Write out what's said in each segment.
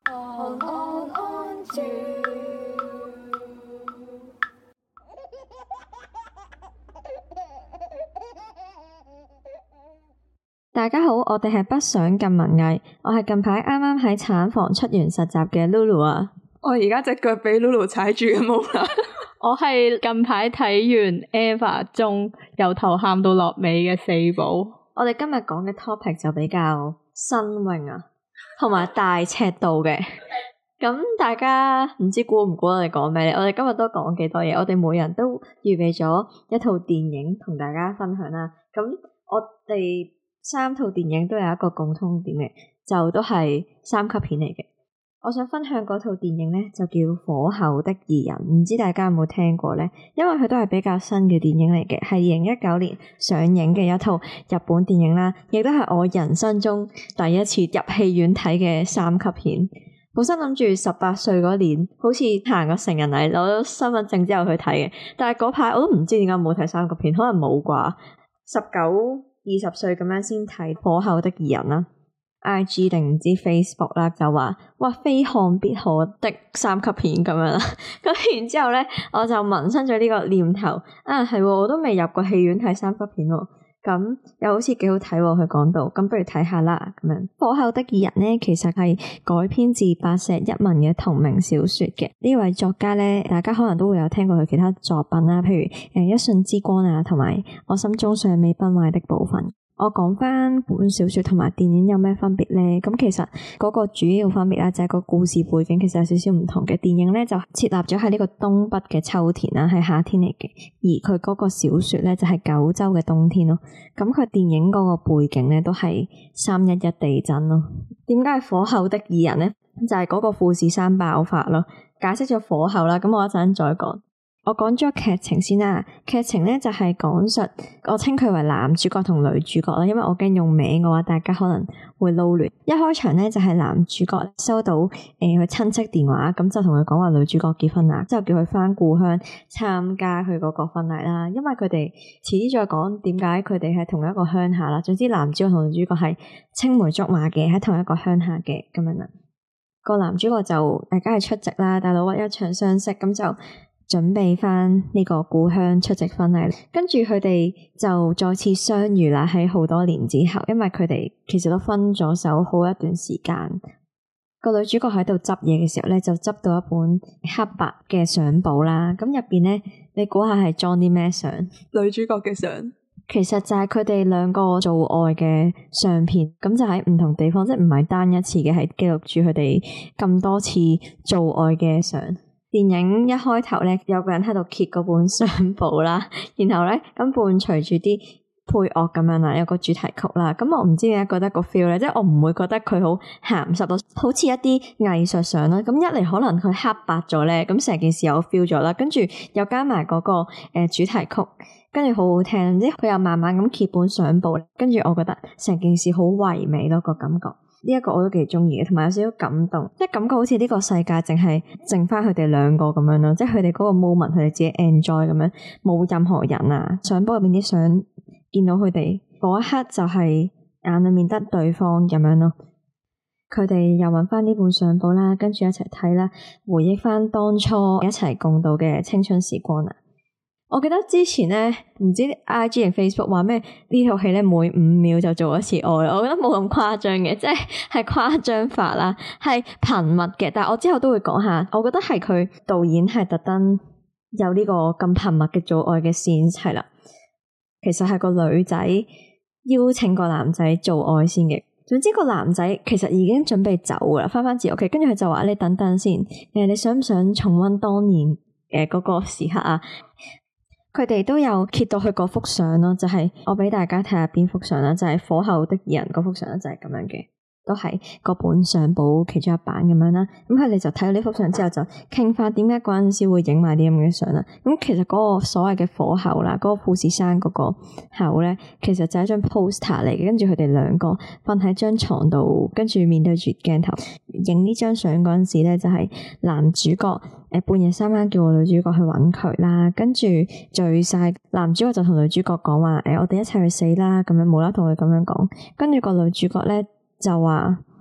大家好，我哋係不想咁文藝，我係近排啱啱喺產房出完實習嘅 Lulu 啊。 我而家隻腳俾 Lulu 踩住嘅冇啦。 我係近排睇完 Eva 中由頭喊到落尾嘅四寶。 我哋今日講嘅 topic 就比較新穎啊，同埋大尺度嘅。咁大家唔知估唔估我哋講咩咧？我哋今日都講幾多嘢，我哋每人都預備咗一套電影同大家分享啦。咁我哋三套電影都有一個共通點嘅，就都係三級片嚟嘅。我想分享嗰套電影咧，就叫《火候的異人》，唔知大家有冇聽過咧？因為佢都係比較新嘅電影嚟嘅，係2019年上映嘅一套日本電影啦，亦都係我人生中第一次入戲院睇嘅三級片。本身諗住18歲嗰年，好似行個成人禮，攞咗身份證之後去睇嘅，但係嗰排我都唔知點解冇睇三級片，可能冇啩。19、20歲咁樣先睇《火候的異人》啦。IG 定唔知 Facebook 啦，就話哇非看必可的三級片咁樣啦，咁然之後咧，我就萌生咗呢個念頭啊，係我都未入過戲院睇三級片喎，咁又好似幾好睇喎，佢講到，咁不如睇下啦咁樣。火候的異人咧，其實係改編自白石一文嘅同名小說嘅，呢位作家咧，大家可能都會有聽過佢其他作品啦，譬如一瞬之光啊，同埋我心中尚未崩壞的部分。我講翻本小說同埋電影有咩分別咧？咁其實嗰個主要分別啦，就係個故事背景其實有少少唔同嘅。電影咧就設立咗喺呢個東北嘅秋天啦，係夏天嚟嘅，而佢嗰個小說咧就係九州嘅冬天咯。咁佢電影嗰個背景咧都係311地震咯。點解係火候的異人咧？就係嗰個富士山爆發咯。解釋咗火候啦，咁我一陣再講。我講咗劇情先啦，劇情咧就係講述，我稱佢為男主角同女主角啦，因為我驚用名嘅話，大家可能會撈亂。一開場咧就係男主角收到佢親戚電話，咁就同佢講話女主角結婚啦，之後叫佢返故鄉參加佢嗰個婚禮啦。因為佢哋遲啲再講點解佢哋係同一個鄉下啦。總之男主角同女主角係青梅竹馬嘅，喺同一個鄉下嘅咁樣啦。個男主角就梗係出席啦，大佬一場相識，咁就準備翻呢個故鄉出席婚禮，跟住佢哋就再次相遇啦。喺好多年之後，因為佢哋其實都分咗手好一段時間。個女主角喺度執嘢嘅時候咧，就執到一本黑白嘅相簿啦。咁入邊咧，你估下係裝啲咩相？ 女主角嘅相， 其實就係佢哋兩個做愛嘅相片。咁就喺唔同地方，即係唔係單一次嘅，係記錄住佢哋咁多次做愛嘅相。電影一開頭咧，有個人喺度揭嗰本相簿啦，然後咧咁伴隨住啲配樂咁樣啦，有個主題曲啦。咁我唔知點解覺得個 feel 咧，即係我唔會覺得佢好鹹濕到，好似一啲藝術相啦。咁一嚟可能佢黑白咗咧，咁成件事有 feel 咗啦。跟住又加埋嗰個主題曲，跟住好好聽。即係佢又慢慢咁揭本相簿，跟住我覺得成件事好唯美咯，個感覺。呢一個我都幾中意嘅，同埋有少少感動，即係感覺好似呢個世界淨係剩翻佢哋兩個咁樣咯，即係佢哋嗰個 moment 佢哋自己 enjoy 咁樣，冇任何人啊。相簿入邊啲相見到佢哋嗰一刻就係眼裏面得對方咁樣咯。佢哋又揾翻呢本相簿啦，跟住一齊睇啦，回憶翻當初一齊共度嘅青春時光啊！我記得之前咧，唔知 IG 定 Facebook 話咩呢套戲咧，每5秒就做一次愛，我覺得冇咁誇張嘅，即係誇張法啦，係頻密嘅。但係我之後都會講下，我覺得係佢導演係特登有呢個咁頻密嘅做愛嘅線係啦。其實係個女仔邀請個男仔做愛先嘅。總之個男仔其實已經準備走噶啦，翻自己屋企，跟住佢就話你等等先，你想唔想重溫當年嗰個時刻啊？佢哋都有揭到佢嗰幅相咯，就係我俾大家睇下邊幅相啦，就係火候的異人嗰幅相就係咁樣嘅，都係嗰本相簿其中一版咁樣啦。咁佢哋就睇到呢幅相之後就傾翻點解嗰陣時會影埋啲咁嘅相啦。咁其實嗰個所謂嘅火候啦，嗰個富士山嗰個口咧，其實就係一張 poster 嚟嘅。跟住佢哋兩個瞓喺張床度，跟住面對住鏡頭影呢張相嗰陣時咧，就係男主角半夜三更叫個女主角去揾佢啦，跟住醉晒，男主角就同女主角講話我哋一齊去死啦，咁樣無啦同佢咁樣講，跟住個女主角咧就話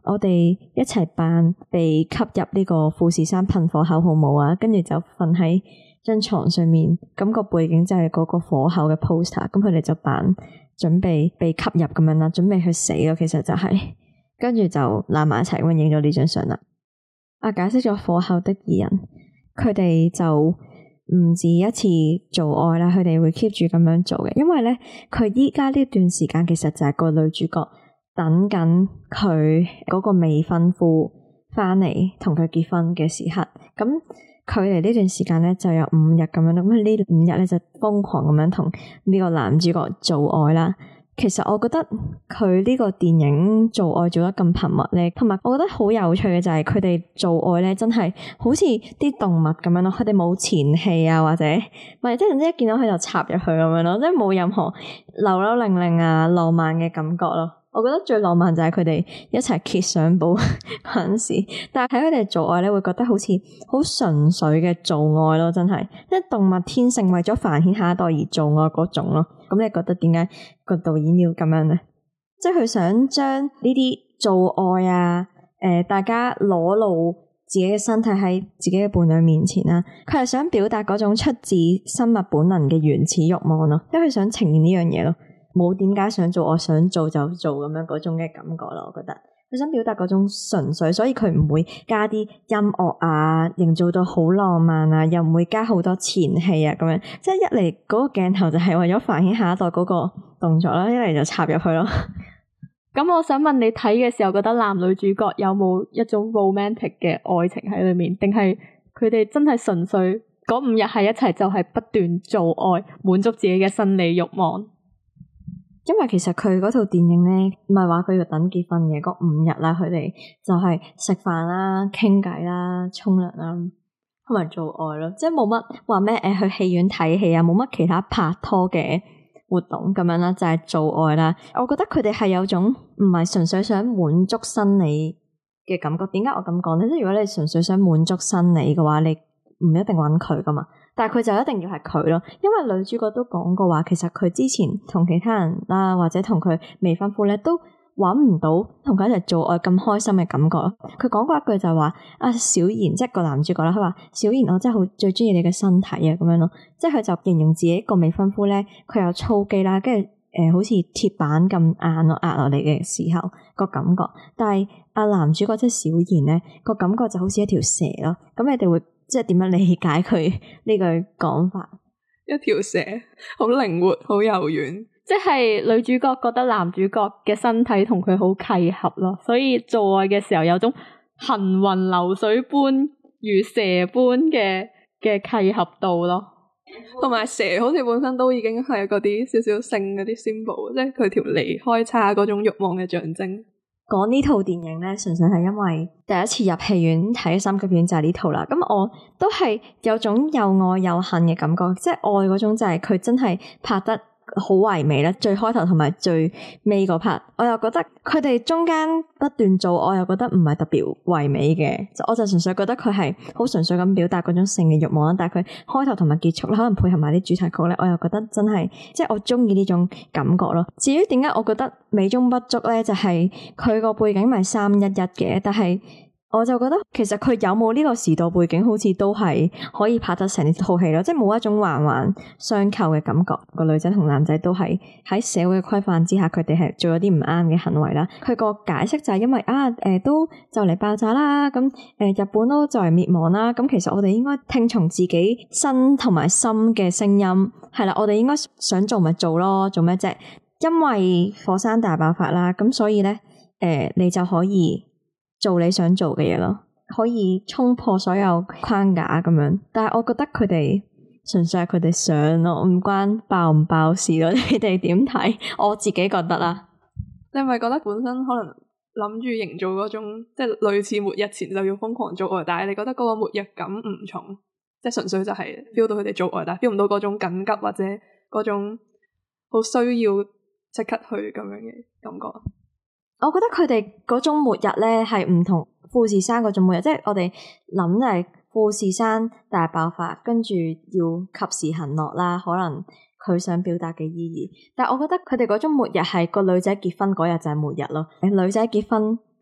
我哋一齊扮被吸入呢個富士山噴火口好冇啊？跟住就瞓喺張床上面，咁個背景就係嗰個火口嘅 poster， 咁佢哋就扮準備被吸入咁樣啦，準備去死咯，其實就係，跟住就攬埋一齊咁影咗呢張相啦。解釋咗火口的二人，佢哋就唔止一次做愛啦，佢哋會 keep 住咁樣做嘅，因為咧佢依家呢段時間其實就係個女主角等緊佢嗰個未婚夫翻嚟同佢結婚嘅時刻，咁距離呢段時間咧就有5日咁樣，咁呢5日咧就瘋狂咁樣同呢個男主角做愛啦。其實我覺得佢呢個電影做愛做得咁頻密咧，同埋我覺得好有趣嘅就係佢哋做愛咧，真係好似啲動物咁樣咯。佢哋冇前戲啊，或者唔係即係總之一見到佢就插入去咁樣咯，即係冇任何扭扭擰擰啊浪漫嘅感覺咯。我覺得最浪漫就係佢哋一齊揭相簿嗰陣時，但係睇佢哋做愛咧，會覺得好似好純粹嘅做愛咯，真係即係動物天性為咗繁衍下一代而做愛嗰種咯。咁你覺得點解個導演要咁樣咧？即係佢想將呢啲做愛啊，大家裸露自己嘅身體喺自己嘅伴侶面前啦，佢係想表達嗰種出自生物本能嘅原始慾望咯，因為佢想呈現呢樣嘢咯。冇點解想做，我想做就做咁樣嗰種嘅感覺咯，我覺得佢想表達嗰種純粹，所以佢唔會加啲音樂啊，營造到好浪漫啊，又唔會加好多前戲啊咁樣，即係一嚟嗰個鏡頭就係為咗繁衍下一代嗰個動作啦，一嚟就插入去咯。 咁我想問你睇嘅時候，覺得男女主角有冇一種 romantic 嘅愛情喺裏面，定係佢哋真係純粹嗰5日喺一齊就係不斷做愛，滿足自己嘅生理慾望？ 因為其實佢嗰套電影咧，唔係話佢要等結婚嘅嗰5日啦，佢哋就係食飯啦、傾偈啦、沖涼啦，同埋做愛咯，即係冇乜話咩去戲院睇戲啊，冇乜其他拍拖嘅活動咁樣啦，就係做愛啦。我覺得佢哋係有種唔係純粹想滿足生理嘅感覺。點解我咁講咧？即係如果你純粹想滿足生理嘅話，你唔一定揾佢噶嘛。但係佢就一定要係佢咯，因為女主角都講過話，其實佢之前同其他人啦，或者同佢未婚夫咧，都揾唔到同佢一齊做愛咁開心嘅感覺咯。佢講過一句就係話：小妍，即係個男主角啦，佢話小妍，我真係好最中意你嘅身體啊，咁樣咯。即係佢就形容自己個未婚夫咧，佢有粗肌啦，跟住好似鐵板咁硬咯，壓落嚟嘅時候個感覺。但係男主角即係小妍咧，個感覺就好似一條蛇咯。咁你哋會即係點樣理解佢呢句講法？ 一條蛇，好靈活，好柔軟。 即係女主角覺得男主角嘅身體同佢好契合咯，所以做愛嘅時候有種行雲流水般如蛇般嘅契合度咯。 同埋蛇好似本身都已經係嗰啲少少性嗰啲 symbol， 即係佢條脷開叉嗰種慾望嘅象徵。 講呢套電影咧，純粹係因為第一次入戲院睇三級片就係呢套啦。咁我都係有種又愛又恨嘅感覺，即係愛嗰種就係佢真係拍得好唯美啦，最開頭同埋最尾嗰 part，我又覺得佢哋中間不斷做，我又覺得唔係特別唯美嘅，我就純粹覺得佢係好純粹咁表達嗰種性嘅慾望啦。但係佢開頭同埋結束咧，可能配合埋啲主題曲咧，我又覺得真係即係我中意呢種感覺咯。至於點解我覺得美中不足咧，就係佢個背景咪311嘅，但係我就覺得其實佢有冇呢個時代背景，好似都係可以拍得成套戲咯，即係冇一種環環相扣嘅感覺。個女仔同男仔都係喺社會嘅規範之下，佢哋係做咗啲唔啱嘅行為啦。佢個解釋就係因為都就嚟爆炸啦，咁日本都就嚟滅亡啦，咁其實我哋應該聽從自己身同埋心嘅聲音，係啦，我哋應該想做咪做咯，做咩啫？因為火山大爆發啦，咁所以咧你就可以做你想做嘅嘢咯，可以衝破所有框架咁樣。但係我覺得佢哋純粹係佢哋想咯，唔關爆唔爆事咯。你哋點睇？我自己覺得啦。 你係咪覺得本身可能諗住營造嗰種即係類似末日前就要瘋狂做愛，但係你覺得嗰個末日感唔重，即係純粹就係 feel 到佢哋做愛，但係 feel 唔到嗰種緊急或者嗰種好需要即刻去咁樣嘅感覺？ 我覺得佢哋嗰種末日咧係唔同富士山嗰種末日，即係我哋諗就係富士山大爆發，跟住要及時行樂啦，可能佢想表達嘅意義。但係我覺得佢哋嗰種末日係個女仔結婚嗰日就係末日咯。女仔結婚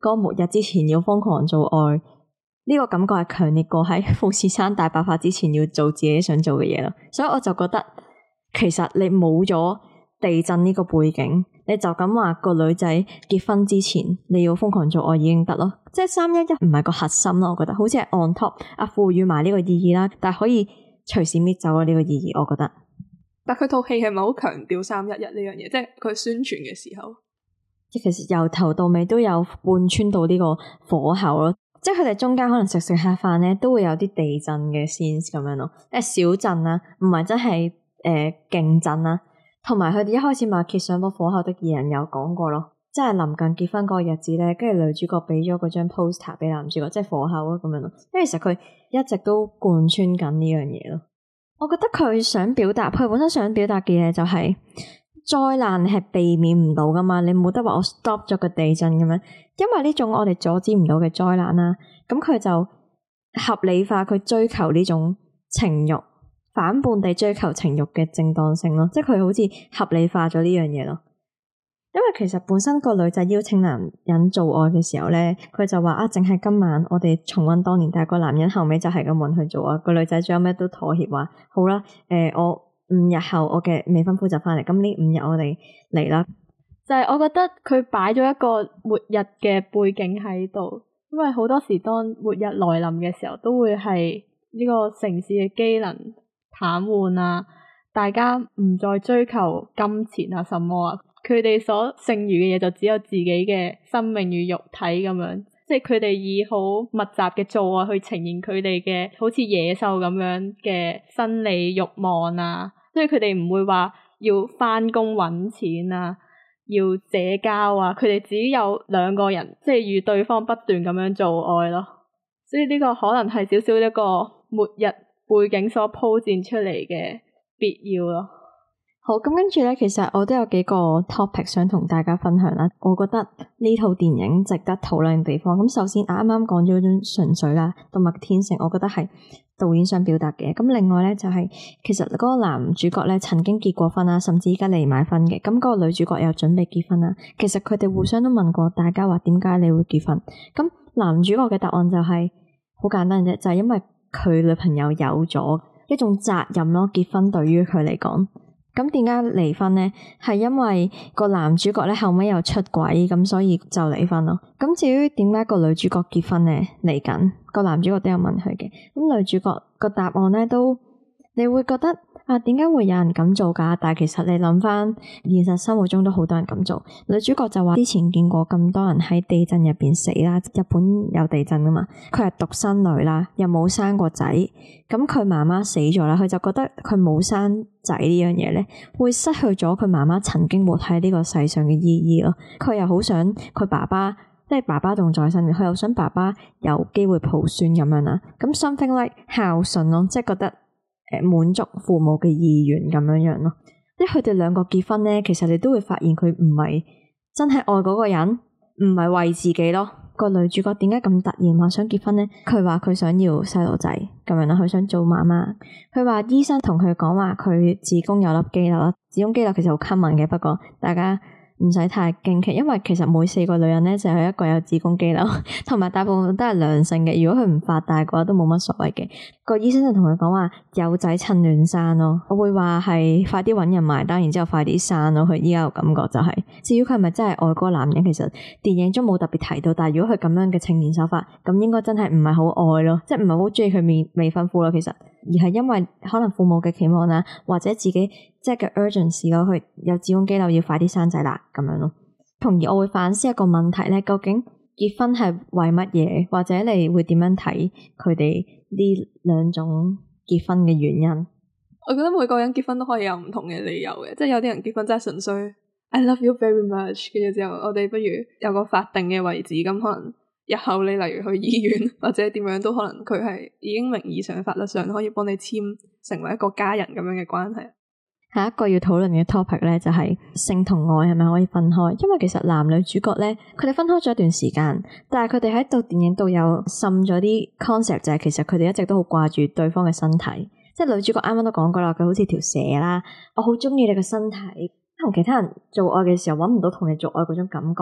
嗰個末日之前要瘋狂做愛，呢個感覺係強烈過喺富士山大爆發之前要做自己想做嘅嘢咯。所以我就覺得其實你冇咗地震呢個背景，你就咁話個女仔結婚之前你要瘋狂做愛已經得咯。即係311唔係個核心咯，我覺得好似係 on top 賦予埋呢個意義啦，但係可以隨時搣走咗呢個意義，我覺得。 但佢套戲係咪好強調311呢樣嘢？即係佢宣傳嘅時候， 其實由頭到尾都有貫穿到呢個火候咯。即係佢哋中間可能食下飯咧，都會有啲地震嘅 scenes 咁樣咯。小震啦，唔係真係勁震啦。同埋佢哋一開始咪揭上個火候的二人有講過咯，即係臨近結婚嗰個日子咧，跟住女主角俾咗嗰張 poster 俾男主角，即係火候咯咁樣咯。因為其實佢一直都貫穿緊呢樣嘢咯。我覺得佢想表達，佢本身想表達嘅嘢就係災難係避免唔到噶嘛，你冇得話我 stop 咗個地震咁樣，因為呢種我哋阻止唔到嘅災難啦，咁佢就合理化佢追求呢種情慾，反叛地追求情慾嘅正當性咯，即係佢好似合理化咗呢樣嘢咯。因為其實本身個女仔邀請男人做愛嘅時候咧，佢就話淨係今晚我哋重溫當年，但係個男人後尾就係咁搵佢做愛，個女仔最後尾都妥協話好啦，我5日後我嘅未婚夫就翻嚟，咁呢5日我哋嚟啦。 就係我覺得佢擺咗一個末日嘅背景喺度，因為好多時當末日來臨嘅時候，都會係呢個城市嘅機能癱瘓啊，大家唔再追求金錢啊什麼啊。佢哋所剩餘嘅嘢就只有自己嘅生命與肉體咁樣，即係佢哋以好密集嘅做愛去呈現佢哋嘅好似野獸咁樣嘅生理慾望啊，所以佢哋唔會話要返工搵錢啊，要社交啊，佢哋只有兩個人即係與對方不斷咁樣做愛咯，所以呢個可能係少少一個末日背景所鋪墊出嚟嘅必要咯。 好，咁跟住咧，其實我都有幾個 topic 想同大家分享啦。我覺得呢套電影值得討論嘅地方，咁首先啱啱講咗嗰種純粹啦，動物天性，我覺得係導演想表達嘅。咁另外咧就係，其實嗰個男主角咧曾經結過婚啦，甚至而家離埋婚嘅。咁嗰個女主角又準備結婚啦。其實佢哋互相都問過大家話點解你會結婚？咁男主角嘅答案就係好簡單啫，就係因為佢女朋友有咗一種責任咯。結婚對於佢嚟講。咁點解離婚呢？係因為個男主角咧後尾又出軌，咁所以就離婚咯。咁至於點解個女主角結婚呢？嚟緊個男主角都有問佢嘅。咁女主角個答案咧都，你會覺得點解會有人咁做㗎？但係其實你諗翻現實生活中都好多人咁做。女主角就話之前見過咁多人喺地震入邊死啦，日本有地震㗎嘛，佢係獨生女啦，又冇生過仔，咁佢媽媽死咗啦，佢就覺得佢冇生仔呢樣嘢咧，會失去咗佢媽媽曾經活喺呢個世上嘅意義咯。佢又好想佢爸爸，即係爸爸仲在生嘅，佢又想爸爸有機會抱孫咁樣啦。咁 something like 孝順咯，即係覺得滿足父母嘅意願咁樣樣咯。即係佢哋兩個結婚咧，其實你都會發現佢唔係真係愛嗰個人，唔係為自己咯。個女主角點解咁突然話想結婚呢？佢話佢想要細路仔咁樣啦，佢想做媽媽。佢話醫生同佢講話佢子宮有粒肌瘤啦，子宮肌瘤其實好 common 嘅，不過大家唔使太驚奇，因為其實每4個女人咧就有一個有子宮肌瘤，同埋大部分都係良性嘅。如果佢唔發大嘅話，都冇乜所謂嘅。個醫生就同佢講話有仔趁亂生咯，我會話係快啲搵人埋單，然之後快啲生咯。佢依家個感覺就係，至於佢係咪真係愛嗰個男人，其實電影中冇特別提到。但係如果佢咁樣嘅呈現手法，咁應該真係唔係好愛咯，即係唔係好中意佢未婚夫咯。其實而係因為可能父母嘅期望啦，或者自己即係嘅 urgency 咯，佢有子宮肌瘤要快啲生仔啦咁樣咯。從而我會反思一個問題咧，究竟結婚係為乜嘢？或者你會點樣睇佢哋呢兩種結婚嘅原因？ 我覺得每個人結婚都可以有唔同嘅理由嘅，即係有啲人結婚真係純粹 I love you very much， 跟住之後我哋不如有個法定嘅位置，咁可能日後你例如去醫院或者點樣都可能佢係已經名義上法律上可以幫你簽成為一個家人咁樣嘅關係。 下一個要討論嘅 topic 咧，就係性同愛係咪可以分開？因為其實男女主角咧，佢哋分開咗一段時間，但係佢哋喺度電影度有滲咗啲 concept，就係其實佢哋一直都好掛住對方嘅身體。即係女主角啱啱都講過啦，佢好似條蛇啦，我好中意你嘅身體，同其他人做愛嘅時候搵唔到同你做愛嗰種感覺。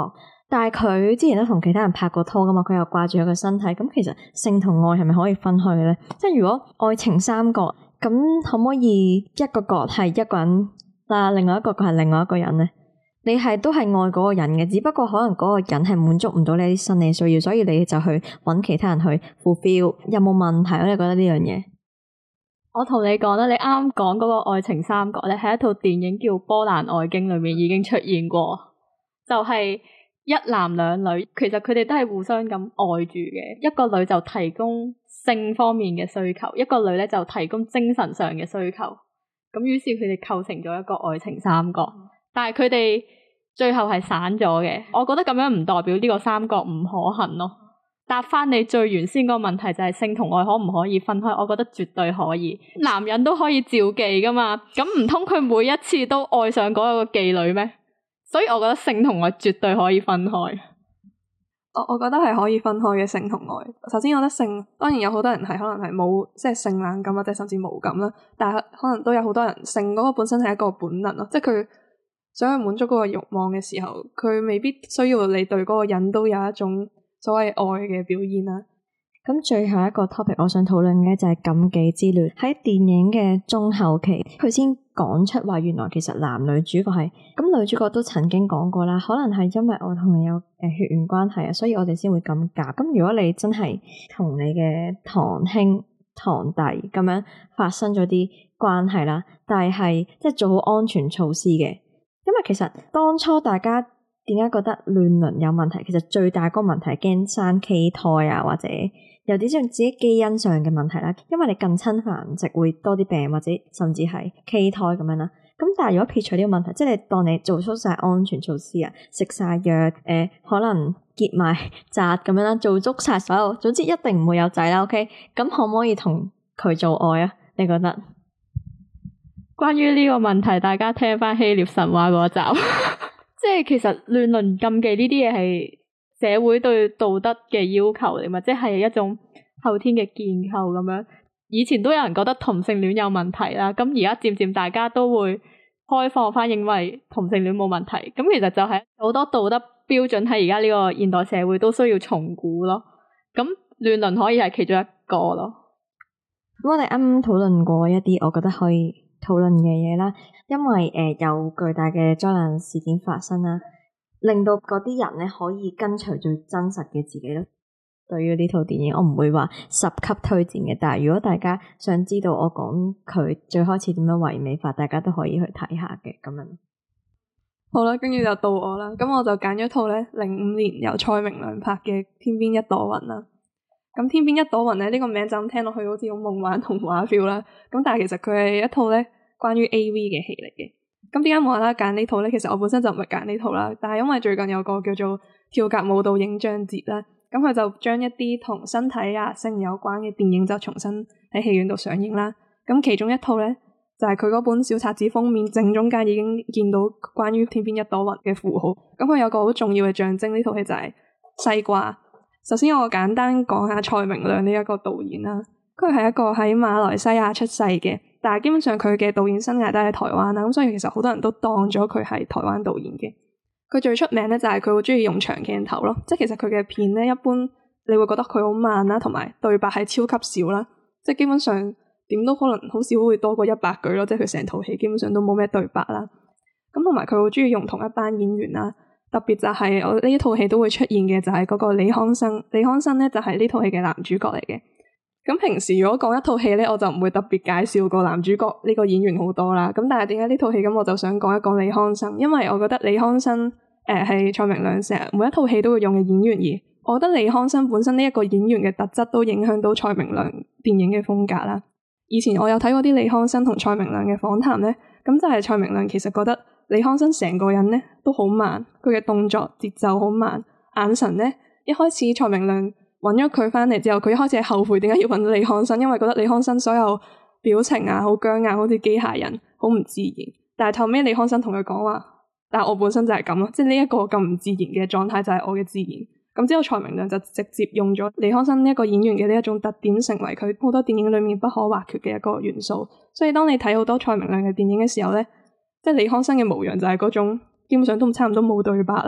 但係佢之前都同其他人拍過拖噶嘛，佢又掛住佢個身體，咁其實性同愛係咪可以分開嘅咧？即係如果愛情三角，咁可唔可以一個角係一個人，但係另外一個角係另外一個人咧？你係都係愛嗰個人嘅，只不過可能嗰個人係滿足唔到你啲生理需要，所以你就去揾其他人去 fulfill， 有冇問題？你覺得呢樣嘢？ 我同你講啦，你啱啱講嗰個愛情三角咧，喺一套電影叫《波蘭愛經》裏面已經出現過，就係一男兩女，其實佢哋都係互相咁愛住嘅。一個女就提供性方面嘅需求，一個女咧就提供精神上嘅需求。咁於是佢哋構成咗一個愛情三角，但係佢哋最後係散咗嘅。我覺得咁樣唔代表呢個三角唔可行咯。答翻你最原先個問題就係性同愛可唔可以分開？我覺得絕對可以，男人都可以召妓噶嘛。咁唔通佢每一次都愛上嗰個妓女咩？所以我覺得性同愛絕對可以分開。 我覺得係可以分開嘅，性同愛。首先我覺得性當然有好多人係可能係冇即係性冷感或者甚至無感啦，但係可能都有好多人性嗰個本身係一個本能咯，即係佢想去滿足嗰個慾望嘅時候，佢未必需要你對嗰個人都有一種所謂愛嘅表現啦。 咁最後一個 topic 我想討論嘅就係禁忌之戀。喺電影嘅中後期，佢先講出話原來其實男女主角係咁，女主角都曾經講過啦，可能係因為我同你有血緣關係啊，所以我哋先會咁夾。咁如果你真係同你嘅堂兄堂弟咁樣發生咗啲關係啦，但係即係做好安全措施嘅，因為其實當初大家點解覺得亂倫有問題？其實最大個問題係驚生畸胎啊，或者有啲像自己基因上嘅問題啦。因為你近親繁殖會多啲病，或者甚至係畸胎咁樣啦。咁但係如果撇除呢個問題，即係你當你做出晒安全措施啊，食晒藥，可能結埋紮咁樣啦，做足晒所有，總之一定唔會有仔啦。OK，咁可唔可以同佢做愛啊？你覺得？ 關於呢個問題，大家聽翻希臘神話嗰集。即係其實亂倫禁忌呢啲嘢係社會對道德嘅要求嚟嘛，即係一種後天嘅建構咁樣。以前都有人覺得同性戀有問題啦，咁而家漸漸大家都會開放翻，認為同性戀冇問題。咁其實就係好多道德標準喺而家呢個現代社會都需要重估咯。咁亂倫可以係其中一個咯。 咁我哋啱啱討論過一啲我覺得可以討論嘅嘢啦，因為有巨大嘅災難事件發生啦，令到嗰啲人咧可以跟隨最真實嘅自己咯。對於呢套電影，我唔會話10級推薦嘅，但係如果大家想知道我講佢最開始點樣唯美化，大家都可以去睇下嘅咁樣。 好啦，跟住就到我啦，咁我就揀咗套咧05年由蔡明亮拍嘅《天邊一朵雲》啦。咁《天邊一朵雲》咧呢個名就咁聽落去好似好夢幻童話 feel 啦，咁但係其實佢係一套咧關於 AV 嘅戲嚟嘅。咁點解無啦啦揀呢套咧？其實我本身就唔係揀呢套啦，但係因為最近有個叫做跳格舞蹈影像節啦，咁佢就將一啲同身體啊性有關嘅電影就重新喺戲院度上映啦。咁其中一套咧就係佢嗰本小冊子封面正中間已經見到關於天邊一朵雲嘅符號。咁佢有個好重要嘅象徵，呢套戲就係西瓜。首先我簡單講下蔡明亮呢一個導演啦，佢係一個喺馬來西亞出世嘅，但係基本上佢嘅導演生涯都喺台灣啦，咁所以其實好多人都當咗佢係台灣導演嘅。佢最出名咧就係佢好鍾意用長鏡頭咯，即係其實佢嘅片咧一般你會覺得佢好慢啦，同埋對白係超級少啦，即係基本上點都可能好少會多過100句咯，即係佢成套戲基本上都冇咩對白啦。咁同埋佢好鍾意用同一班演員啦。特別就係我呢一套戲都會出現嘅就係嗰個李康生，李康生咧就係呢套戲嘅男主角嚟嘅。咁平時如果講一套戲咧，我就唔會特別介紹個男主角呢個演員好多啦。咁但係點解呢套戲咁我就想講一講李康生，因為我覺得李康生係蔡明亮成日每一套戲都會用嘅演員，而我覺得李康生本身呢一個演員嘅特質都影響到蔡明亮電影嘅風格啦。以前我有睇過啲李康生同蔡明亮嘅訪談咧，咁就係蔡明亮其實覺得李康生成個人咧都好慢，佢嘅動作節奏好慢，眼神咧一開始蔡明亮揾咗佢返嚟之後，佢一開始係後悔點解要揾李康生，因為覺得李康生所有表情啊好僵硬，好似機械人，好唔自然。但係後尾李康生同佢講話，但係我本身就係咁咯，即係呢一個咁唔自然嘅狀態就係我嘅自然。咁之後蔡明亮就直接用咗李康生呢一個演員嘅呢一種特點，成為佢好多電影裡面不可或缺嘅一個元素。所以當你睇好多蔡明亮嘅電影嘅時候咧，即係李康生嘅模樣就係嗰種基本上都差唔多冇對白啦，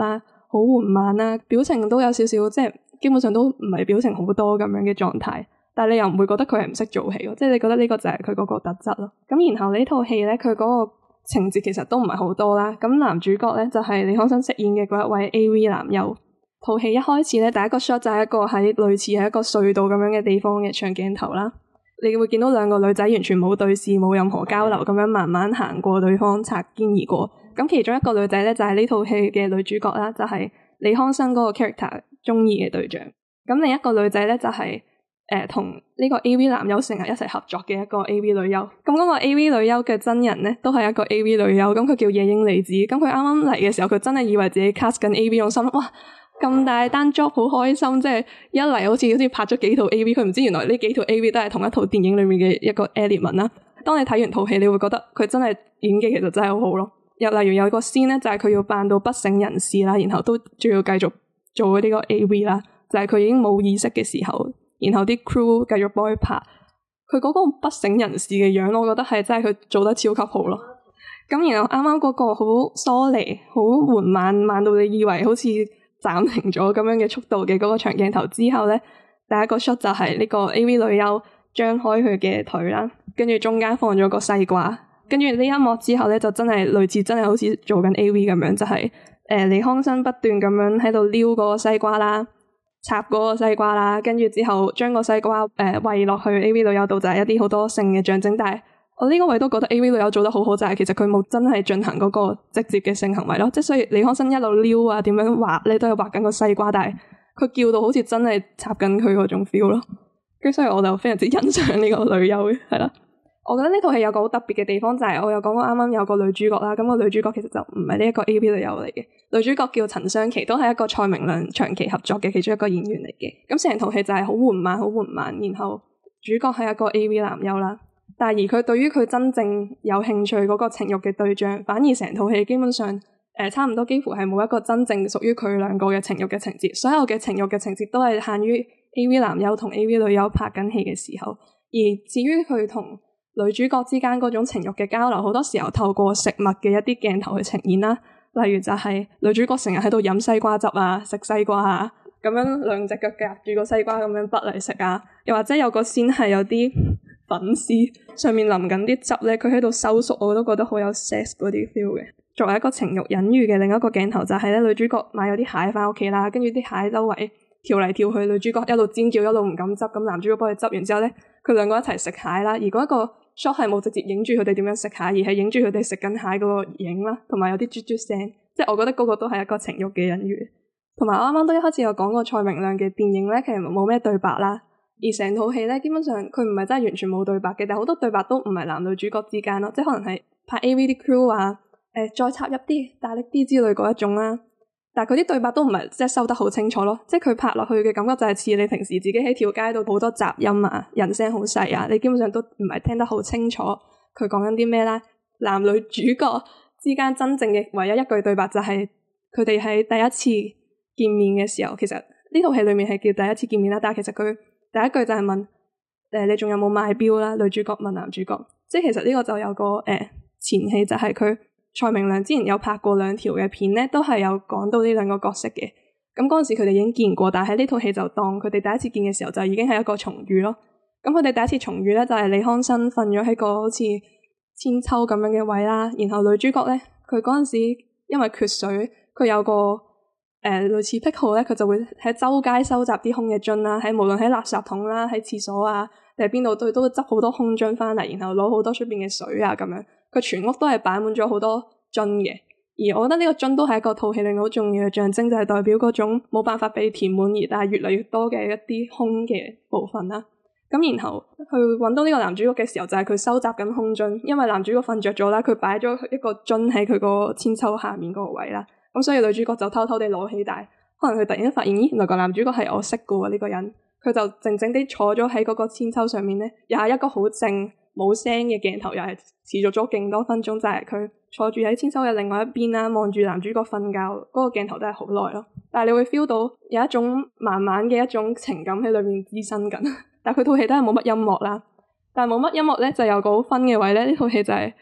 好緩慢啦，表情都有少少即係基本上都唔係表情好多咁樣嘅狀態，但係你又唔會覺得佢係唔識做戲咯，即係你覺得呢個就係佢嗰個特質咯。咁然後呢套戲咧，佢嗰個情節其實都唔係好多啦。咁男主角咧就係李康生飾演嘅嗰一位 AV 男優。套戲一開始咧，第一個 shot 就係一個喺類似係一個隧道咁樣嘅地方嘅長鏡頭啦。你會見到兩個女仔完全冇對視、冇任何交流咁樣慢慢行過對方，擦肩而過。咁其中一個女仔咧就係呢套戲嘅女主角啦，就係李康生嗰個 character 中意嘅對象。咁另一個女仔咧就係同呢個 AV 男優成日一齊合作嘅一個 AV 女優。咁嗰個 AV 女優嘅真人咧都係一個 AV 女優，咁佢叫野櫻莉子。咁佢啱啱嚟嘅時候，佢真係以為自己 cast 緊 AV， 用心哇！咁大單 job 好開心，即係一嚟好似拍咗幾套 AV， 佢唔知原來呢幾套 AV 都係同一套電影裏面嘅一個 element 啦。當你睇完套戲，你會覺得佢真係演技其實真係好好咯。又例如有個 scene 咧，就係佢要扮到不省人事啦，然後都仲要繼續做呢個 AV 啦，就係佢已經冇意識嘅時候，然後啲 crew 繼續幫佢拍，佢嗰個不省人事嘅樣，我覺得係真係佢做得超級好咯。咁然後啱啱嗰個好疏離、好緩慢，慢到你以為好似暫停咗咁樣嘅速度嘅嗰個長鏡頭之後咧，第一個 shot 就係呢個 AV 女優張開佢嘅腿啦，跟住中間放咗個西瓜，跟住呢一幕之後咧就真係類似真係好似做緊 AV 咁樣，就係李康生不斷咁樣喺度撩嗰個西瓜啦，插嗰個西瓜啦，跟住之後將個西瓜餵落去 AV 女優度，就係一啲好多性嘅象徵，但係我呢個位都覺得 AV 女優做得好好，就係其實佢冇真係進行嗰個直接嘅性行為咯，即係所以李康生一路撩啊點樣畫咧都係畫緊個西瓜，但係佢叫到好似真係插緊佢嗰種 feel 咯，跟住所以我就非常之欣賞呢個女優嘅，係啦。我覺得呢套戲有個好特別嘅地方就係我有講過啱啱有個女主角啦，咁個女主角其實就唔係呢一個 AV 女優嚟嘅，女主角叫陳湘琪，都係一個蔡明亮長期合作嘅其中一個演員嚟嘅。咁成套戲就係好緩慢好緩慢，然後主角係一個 AV 男優啦。但係而佢對於佢真正有興趣嗰個情慾嘅對象，反而成套戲基本上差唔多幾乎係冇一個真正屬於佢兩個嘅情慾嘅情節，所有嘅情慾嘅情節都係限於 AV 男優同 AV 女優拍緊戲嘅時候。而至於佢同女主角之間嗰種情慾嘅交流，好多時候透過食物嘅一啲鏡頭去呈現啦，例如就係女主角成日喺度飲西瓜汁啊，食西瓜啊，咁樣兩隻腳夾住個西瓜咁樣剝嚟食啊，又或者有個先係有啲粉絲上面淋緊啲汁咧，佢喺度收縮，我都覺得好有 sex 嗰啲 feel 嘅。作為一個情慾隱喻嘅另一個鏡頭就係咧，女主角買咗啲蟹返屋企啦，跟住啲蟹周圍跳嚟跳去，女主角一路尖叫一路唔敢執，咁男主角幫佢執完之後咧，佢兩個一齊食蟹啦。而嗰一個 shot 係冇直接影住佢哋點樣食蟹，而係影住佢哋食緊蟹嗰個影啦，同埋有啲啜啜聲，即係我覺得嗰個都係一個情慾嘅隱喻。同埋我啱啱都一開始有講過蔡明亮嘅電影咧，其實冇咩對白啦。而成套戲咧，基本上佢唔係真係完全冇對白嘅，但係好多對白都唔係男女主角之間咯，即係可能係拍 AV 啲 crew 話再插入啲、大力啲之類嗰一種啦。但係佢啲對白都唔係即係收得好清楚咯，即係佢拍落去嘅感覺就係似你平時自己喺條街度好多雜音啊，人聲好細啊，你基本上都唔係聽得好清楚佢講緊啲咩啦。男女主角之間真正嘅唯一一句對白就係佢哋喺第一次見面嘅時候，其實呢套戲裡面係叫第一次見面啦，但係其實佢第一句就係問你仲有冇買錶啦？女主角問男主角，即係其實呢個就有個前戲，就係佢蔡明亮之前有拍過2條嘅片咧，都係有講到呢兩個角色嘅。咁嗰陣時佢哋已經見過，但係喺呢套戲就當佢哋第一次見嘅時候就已經係一個重遇咯。咁佢哋第一次重遇咧就係李康生瞓咗喺個好似千秋咁樣嘅位啦，然後女主角咧佢嗰陣時因為缺水，佢有個類似癖好咧，佢就會喺周街收集啲空嘅樽啦，喺無論喺垃圾桶啦、喺廁所啊，定係邊度都會執好多空樽翻嚟，然後攞好多出邊嘅水啊咁樣。佢全屋都係擺滿咗好多樽嘅，而我覺得呢個樽都係一個套戲裏面好重要嘅象徵，就係代表嗰種冇辦法被填滿而但係越嚟越多嘅一啲空嘅部分啦。咁然後去揾到呢個男主角嘅時候，就係佢收集緊空樽，因為男主角瞓着咗啦，佢擺咗一個樽喺佢個千秋下面嗰個位啦。咁所以女主角就偷偷地攞起，但係可能佢突然間發現，咦，原來個男主角係我識嘅喎呢個人，佢就靜靜地坐咗喺嗰個千秋上面咧，又係一個好靜冇聲嘅鏡頭，又係持續咗勁多分鐘，就係佢坐住喺千秋嘅另外一邊啦，望住男主角瞓覺，嗰個鏡頭都係好耐咯。但係你會 feel 到有一種慢慢嘅一種情感喺裏面滋生緊，但係佢套戲都係冇乜音樂啦。但係冇乜音樂咧，就有個好分嘅位咧，呢套戲就係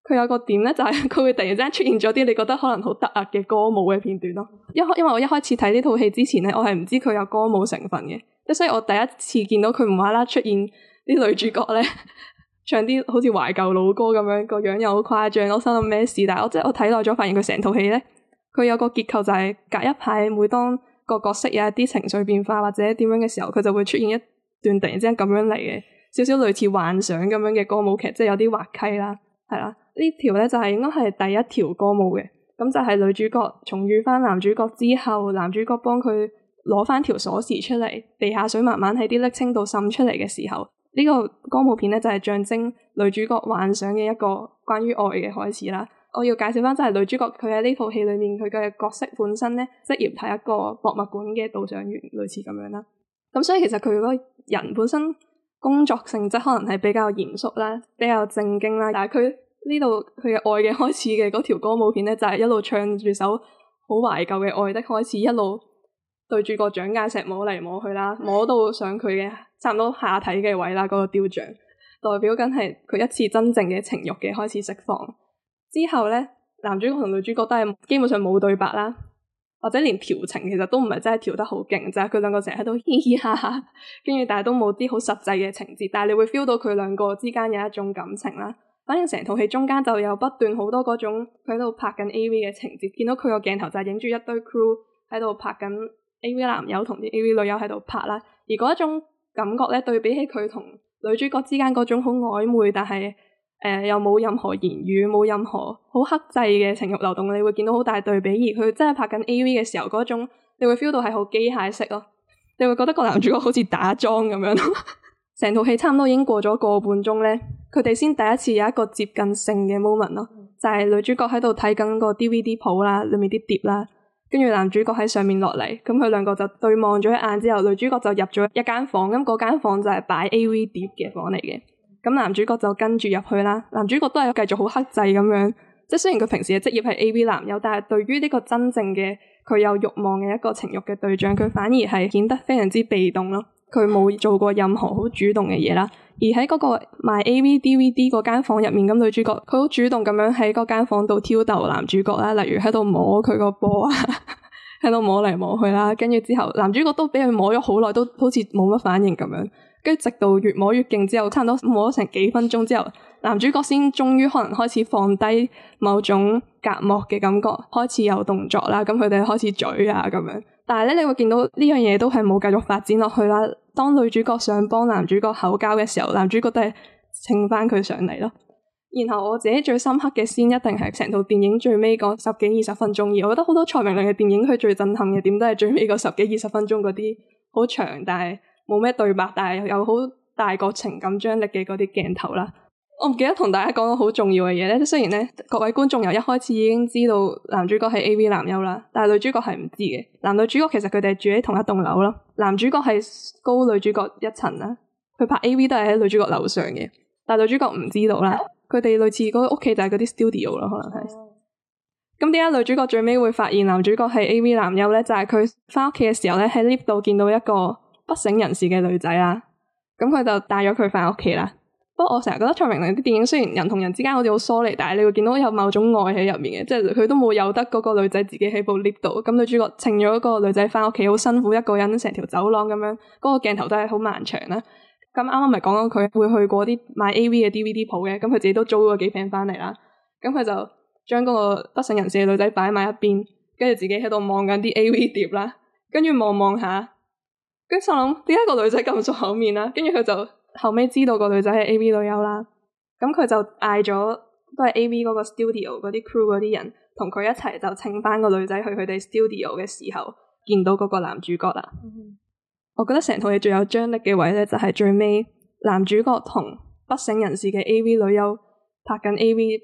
佢有個點咧，就係佢會突然之間出現咗啲你覺得可能好突兀嘅歌舞嘅片段咯。因為我一開始睇呢套戲之前咧，我係唔知佢有歌舞成分嘅，即所以我第一次見到佢無啦啦出現啲女主角咧唱啲好似懷舊老歌咁樣，個樣又好誇張，我心諗咩事？但係我睇耐咗，發現佢成套戲咧，佢有個結構就係隔一排，每當個角色有一啲情緒變化或者點樣嘅時候，佢就會出現一段突然之間咁樣嚟嘅，少少類似幻想咁樣嘅歌舞劇，即係有啲滑稽啦，係啦。呢條咧就係應該係第一條歌舞嘅，咁就係女主角重遇翻男主角之後，男主角幫佢攞翻條鎖匙出嚟，地下水慢慢喺啲瀝青度滲出嚟嘅時候，呢個歌舞片咧就係象徵女主角幻想嘅一個關於愛嘅開始啦。我要介紹翻就係女主角佢喺呢套戲裏面佢嘅角色本身咧，職業係一個博物館嘅導賞員，類似咁樣啦。咁所以其實佢個人本身工作性質可能係比較嚴肅啦，比較正經啦，但係佢呢度佢嘅愛嘅開始嘅嗰條歌舞片咧，就係一路唱住首好懷舊嘅愛的開始，一路對住個蔣介石摸嚟摸去啦，摸到上佢嘅差唔多下體嘅位啦，嗰個雕像代表緊係佢一次真正嘅情慾嘅開始釋放。之後咧，男主角同女主角都係基本上冇對白啦，或者連調情其實都唔係真係調得好勁，就係佢兩個成日喺度嘻嘻哈哈，跟住但係都冇啲好實際嘅情節，但係你會 feel 到佢兩個之間有一種感情啦。反正成套戲中間就有不斷好多嗰種佢喺度拍緊 AV 嘅情節，見到佢個鏡頭就係影住一堆 crew 喺度拍緊 AV 男優同啲 AV 女優喺度拍啦，而嗰一種感覺咧，對比起佢同女主角之間嗰種好曖昧但係又冇任何言語冇任何好克制嘅情慾流動，你會見到好大對比。而佢真係拍緊 AV 嘅時候嗰種你會 feel 到係好機械式咯，你會覺得個男主角好似打樁咁樣咯。成套戲差唔多已經過咗個半鐘咧，佢哋先第一次有一個接近性嘅 moment 咯，就係女主角喺度睇緊個 DVD 鋪啦，裏面啲碟啦，跟住男主角喺上面落嚟，咁佢兩個就對望咗一眼之後，女主角就入咗一間房，咁嗰間房就係擺 AV 碟嘅房嚟嘅，咁男主角就跟住入去啦，男主角都係繼續好克制咁樣，即係雖然佢平時嘅職業係 AV 男優，但係對於呢個真正嘅佢有慾望嘅一個情慾嘅對象，佢反而係顯得非常之被動咯。佢冇做過任何好主動嘅嘢啦，而喺嗰個賣 AV DVD 嗰間房入面，咁女主角佢好主動咁樣喺嗰間房度挑逗男主角啦，例如喺度摸佢個波啊，喺度摸嚟摸去啦，跟住之後男主角都俾佢摸咗好耐，都好似冇乜反應咁樣，跟住直到越摸越勁之後，差唔多摸咗成幾分鐘之後，男主角先終於可能開始放低某種隔膜嘅感覺，開始有動作啦，咁佢哋開始嘴啊咁樣。但係咧，你會見到呢樣嘢都係冇繼續發展落去啦。當女主角想幫男主角口交嘅時候，男主角都係稱翻佢上嚟咯。然後我自己最深刻嘅先一定係成套電影最尾嗰10幾20分鐘，而我覺得好多蔡明亮嘅電影佢最震撼嘅點都係最尾嗰10幾20分鐘嗰啲好長但係冇咩對白，但係有好大個情感張力嘅嗰啲鏡頭啦。我唔記得同大家講個好重要嘅嘢咧，雖然咧各位觀眾由一開始已經知道男主角係 AV 男優啦，但係女主角係唔知嘅。男女主角其實佢哋係住喺同一棟樓咯，男主角係高女主角一層啦，佢拍 AV 都係喺女主角樓上嘅，但係女主角唔知道啦。佢哋類似嗰個屋企就係嗰啲 studio 咯，可能係。咁點解女主角最尾會發現男主角係 AV 男優咧？就係佢翻屋企嘅時候咧，喺 lift 度見到一個不省人事嘅女仔啦，咁佢就帶咗佢翻屋企啦。不過我成日覺得蔡明亮啲電影雖然人同人之間好似好疏離，但係你會見到有某種愛喺入面嘅，即係佢都冇由得嗰個女仔自己喺部 lift 度，咁女主角請咗個女仔翻屋企，好辛苦一個人成條走廊咁樣，嗰個鏡頭都係好漫長啦。咁啱啱咪講緊佢會去過啲賣 AV 嘅 DVD 鋪嘅，咁佢自己都租咗幾片翻嚟啦。咁佢就將嗰個不省人事嘅女仔擺埋一邊，跟住自己喺度望緊啲 AV 碟啦，跟住望下，跟住心諗點解個女仔咁熟口面啦？跟住佢就後尾知道個女仔係 AV 女優啦，咁佢就嗌咗都係 AV 嗰個 studio 嗰啲 crew 嗰啲人同佢一齊就請翻個女仔去佢哋 studio 嘅時候，見到嗰個男主角啦。我覺得成套戲最有張力嘅位咧，就係最尾男主角同不省人事嘅 AV 女優拍緊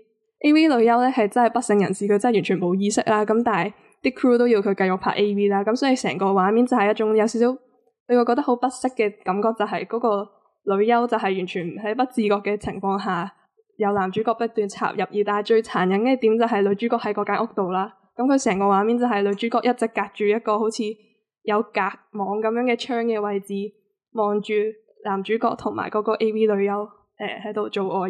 AV 女優咧係真係不省人事，佢真係完全冇意識啦。咁但係啲 crew 都要佢繼續拍 AV 啦，咁所以成個畫面就係一種有少少你會覺得好不適嘅感覺，就係嗰個女優就係完全喺不自覺嘅情況下，有男主角不斷插入，而但係最殘忍嘅點就係女主角喺嗰間屋度啦。咁佢成個畫面就係女主角一直隔住一個好似有隔網咁樣嘅窗嘅位置，望住男主角同埋嗰個 AV 女優喺度做愛，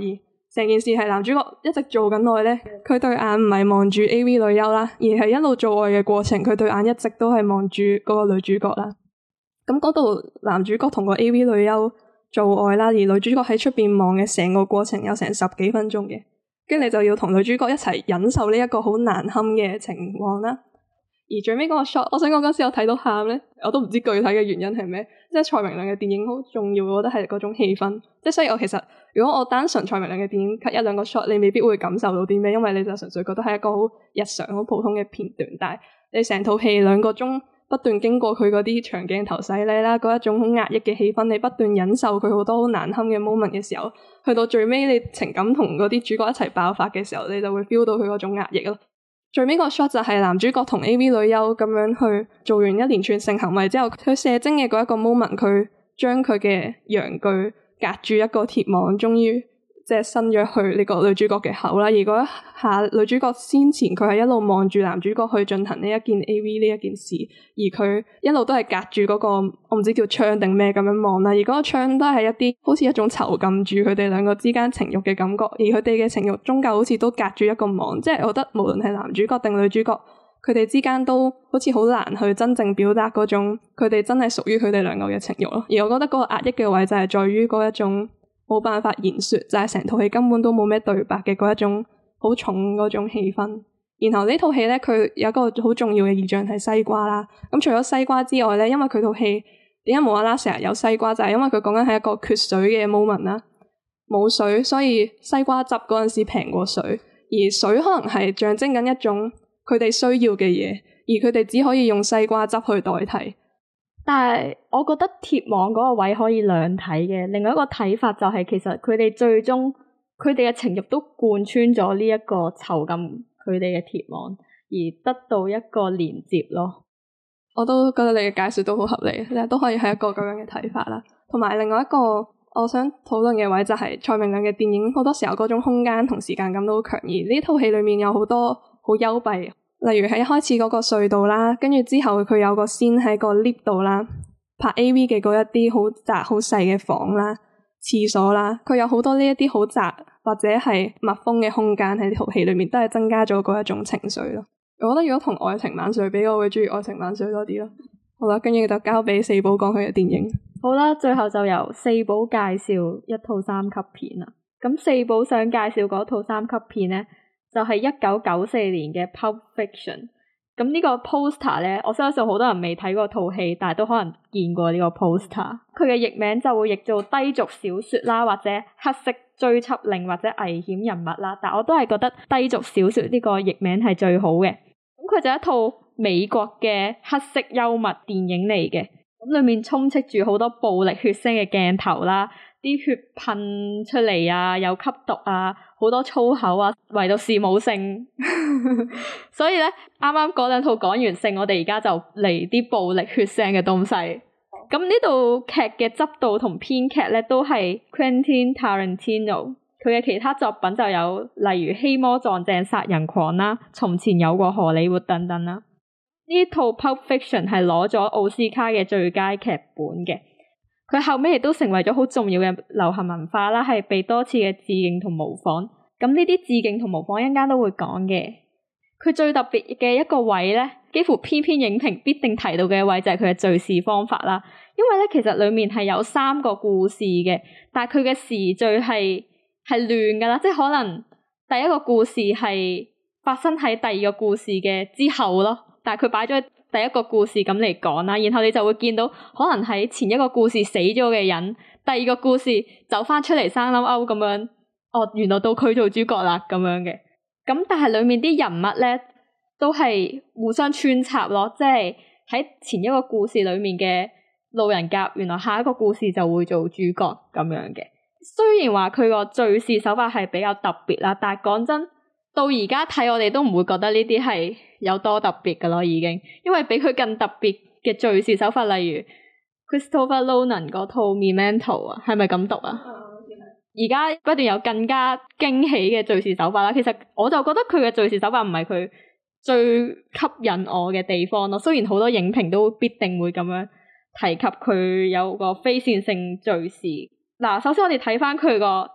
成件事係男主角一直做緊愛咧，佢對眼唔係望住 AV 女優啦，而係一路做愛嘅過程，佢對眼一直都係望住嗰個女主角啦。咁嗰度男主角同個 AV 女優做愛啦，而女主角喺出邊望嘅成個過程有成10幾分鐘嘅，跟住你就要同女主角一齊忍受呢一個好難堪嘅情況啦。而最尾嗰個 shot， 我想講嗰時我睇到喊咧，我都唔知具體嘅原因係咩。即係蔡明亮嘅電影好重要，我覺得係嗰種氣氛。即係所以我其實如果我單純蔡明亮嘅電影 cut 一兩個 shot，你未必會感受到啲咩，因為你就純粹覺得係一個好日常、好普通嘅片段。但係你成套戲2個鐘不斷經過佢嗰啲長鏡頭洗禮啦，嗰一種好壓抑嘅氣氛，你不斷忍受佢好多好難堪嘅 moment 嘅時候，去到最尾你情感同嗰啲主角一齊爆發嘅時候，你就會 feel 到佢嗰種壓抑咯。最尾個 shot 就係男主角同 AV 女優咁樣去做完一連串性行為之後，佢射精嘅嗰一個 moment， 佢將佢嘅陽具隔住一個鐵網，終於即係伸咗去呢個女主角嘅口啦。而嗰一下女主角先前佢係一路望住男主角去進行呢一件 AV 呢一件事，而佢一路都係隔住嗰個我唔知叫窗定咩咁樣望啦。而嗰個窗都係一啲好似一種囚禁住佢哋兩個之間情慾嘅感覺，而佢哋嘅情慾終究好似都隔住一個網，即係我覺得無論係男主角定女主角，佢哋之間都好似好難去真正表達嗰種佢哋真係屬於佢哋兩個嘅情慾咯。而我覺得嗰個壓抑嘅位就係在於嗰一種冇辦法言說，就係成套戲根本都冇咩對白嘅嗰一種好重嗰種氣氛。然後呢套戲咧，佢有一個好重要嘅意象係西瓜啦。咁除咗西瓜之外咧，因為佢套戲點解無啦啦成日有西瓜，就係因為佢講緊係一個缺水嘅 moment 啦，冇水，所以西瓜汁嗰陣時平過水，而水可能係象徵緊一種佢哋需要嘅嘢，而佢哋只可以用西瓜汁去代替。 但係我覺得鐵網嗰個位可以兩睇嘅，另外一個睇法就係其實佢哋最終佢哋嘅情慾都貫穿咗呢一個囚禁佢哋嘅鐵網，而得到一個連接咯。 我都覺得你嘅解說都好合理，都可以係一個咁樣嘅睇法啦。同埋另外一個我想討論嘅位就係蔡明亮嘅電影好多時候嗰種空間同時間感都好強，而呢套戲裏面有好多好幽閉。例如係一開始嗰個隧道啦，跟住之後佢有個先喺個 lift 度啦，拍 AV 嘅嗰一啲好窄好細嘅房啦、廁所啦，佢有好多呢一啲好窄或者係密封嘅空間喺呢套戲裏面，都係增加咗嗰一種情緒咯。我覺得如果同愛情萬歲比，我會鍾意愛情萬歲多啲咯。好啦，跟住就交俾四寶講佢嘅電影。 好啦，最後就由四寶介紹一套3級片啦。咁四寶想介紹嗰套3級片咧，就係1994年嘅 Pulp Fiction。咁呢個 poster 咧，我相信好多人未睇過套戲，但係都可能見過呢個 poster。佢嘅譯名就會譯做低俗小說啦，或者黑色追緝令或者危險人物啦。但我都係覺得低俗小說呢個譯名係最好嘅。咁佢就一套美國嘅黑色幽默電影嚟嘅。咁裏面充斥住好多暴力血腥嘅鏡頭啦。啲血噴出嚟啊，有吸毒啊，好多粗口啊，唯獨是冇性。所以咧，啱啱嗰兩套講完性，我哋而家就嚟啲暴力血腥嘅東西。咁呢部劇嘅執導同編劇咧都係 Quentin Tarantino， 佢嘅其他作品就有例如《希魔撞正殺人狂》啦，《從前有過荷里活》等等啦。呢套 Pulp Fiction 係攞咗奧斯卡嘅最佳劇本嘅。佢後尾亦都成為咗好重要嘅流行文化啦，係被多次嘅致敬同模仿。咁呢啲致敬同模仿一陣間都會講嘅。佢最特別嘅一個位咧，幾乎篇篇影評必定提到嘅位就係佢嘅敘事方法啦。因為咧，其實裡面係有3個故事嘅，但係佢嘅時序係亂噶啦，即係可能第一個故事係發生喺第二個故事嘅之後咯，但係佢擺咗第一個故事咁嚟講啦，然後你就會見到可能喺前一個故事死咗嘅人，第二個故事走翻出嚟生勾勾咁樣，哦，原來到佢做主角啦咁樣嘅。咁但係裏面啲人物咧都係互相穿插咯，即係喺前一個故事裏面嘅路人甲，原來下一個故事就會做主角咁樣嘅。雖然話佢個敘事手法係比較特別啦，但係講真，到而家睇我哋都唔會覺得呢啲係有多特別噶咯，已經，因為比佢更特別嘅敘事手法，例如 Christopher Nolan 嗰套 Memento 啊，係咪咁讀啊？而家不斷有更加驚喜嘅敘事手法啦。其實我就覺得佢嘅敘事手法唔係佢最吸引我嘅地方咯。雖然好多影評都必定會咁樣提及佢有個非線性敘事。嗱，首先我哋睇翻佢個